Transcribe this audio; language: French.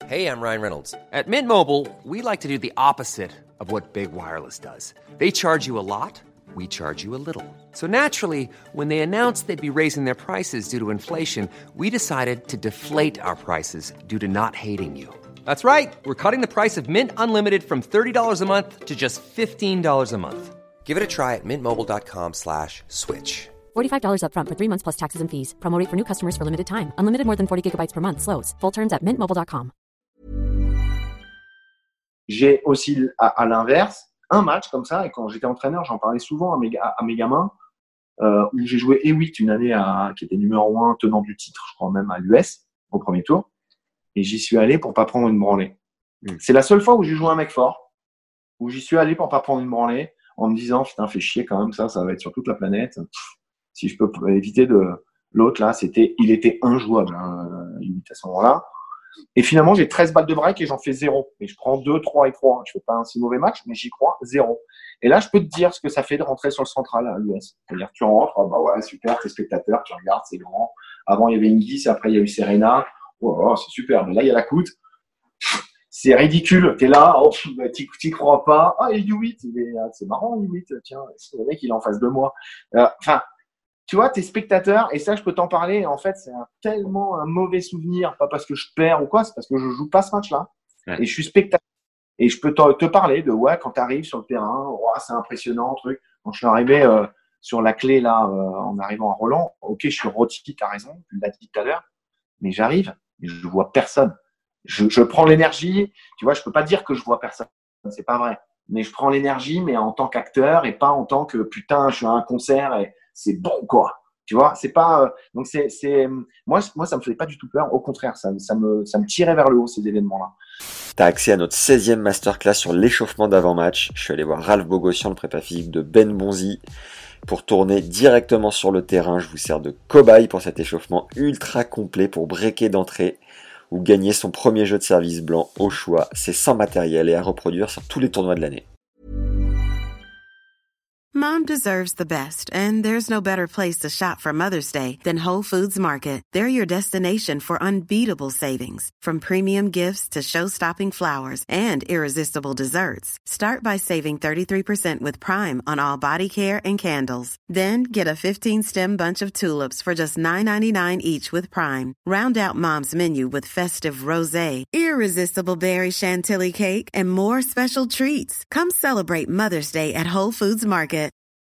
Hey, I'm Ryan Reynolds. At Mint Mobile, we like to do the opposite of what Big Wireless does. They charge you a lot, we charge you a little. So naturally, when they announced they'd be raising their prices due to inflation, we decided to deflate our prices due to not hating you. That's right. We're cutting the price of Mint Unlimited from $30 a month to just $15 a month. Give it a try at mintmobile.com/switch. $45 up front for 3 months plus taxes and fees. Promo rate for new customers for limited time. Unlimited more than 40 gigabytes per month. Slows full terms at mintmobile.com. J'ai aussi, à l'inverse, un match comme ça, et quand j'étais entraîneur, j'en parlais souvent à mes gamins, où j'ai joué E8 une année qui était numéro 1 tenant du titre, je crois même à l'US, au premier tour. Et j'y suis allé pour pas prendre une branlée. C'est la seule fois où j'ai joué un mec fort, où j'y suis allé pour pas prendre une branlée, en me disant, putain, fais chier quand même, ça va être sur toute la planète. Si je peux éviter l'autre, là, il était injouable, à ce moment-là. Et finalement, j'ai 13 balles de break et j'en fais 0. Et je prends 2, 3 et 3. Je fais pas un si mauvais match, mais j'y crois, 0. Et là, je peux te dire ce que ça fait de rentrer sur le central à l'US. C'est-à-dire, tu rentres, bah ouais, super, t'es spectateur, tu regardes, c'est grand. Avant, il y avait Ingis, après, il y a eu Serena. Oh, c'est super. Mais là, il y a la Coute. C'est ridicule. T'es là, t'y crois pas. Ah, et U8, c'est marrant, U8. Tiens, le mec, il est en face de moi. Tu vois, t'es spectateur, et ça, je peux t'en parler. En fait, c'est tellement un mauvais souvenir, pas parce que je perds ou quoi, c'est parce que je joue pas ce match-là. Ouais. Et je suis spectateur. Et je peux te parler de, quand t'arrives sur le terrain, c'est impressionnant, truc. Quand je suis arrivé sur la clé, là, en arrivant à Roland, ok, je suis rôti, t'as raison, tu l'as dit tout à l'heure, mais j'arrive, et je vois personne. Je prends l'énergie, tu vois, je peux pas dire que je vois personne, c'est pas vrai. Mais je prends l'énergie, mais en tant qu'acteur, et pas en tant que, putain, je suis à un concert, et c'est bon, quoi. Tu vois, c'est pas. Donc, moi, ça me faisait pas du tout peur. Au contraire, ça me tirait vers le haut, ces événements-là. Tu as accès à notre 16e masterclass sur l'échauffement d'avant-match. Je suis allé voir Ralph Bogossian, le prépa physique de Ben Bonzi, pour tourner directement sur le terrain. Je vous sers de cobaye pour cet échauffement ultra complet pour breaker d'entrée ou gagner son premier jeu de service blanc au choix. C'est sans matériel et à reproduire sur tous les tournois de l'année. Mom deserves the best, and there's no better place to shop for Mother's Day than Whole Foods Market. They're your destination for unbeatable savings, from premium gifts to show-stopping flowers and irresistible desserts. Start by saving 33% with Prime on all body care and candles. Then get a 15-stem bunch of tulips for just $9.99 each with Prime. Round out Mom's menu with festive rosé, irresistible berry chantilly cake, and more special treats. Come celebrate Mother's Day at Whole Foods Market.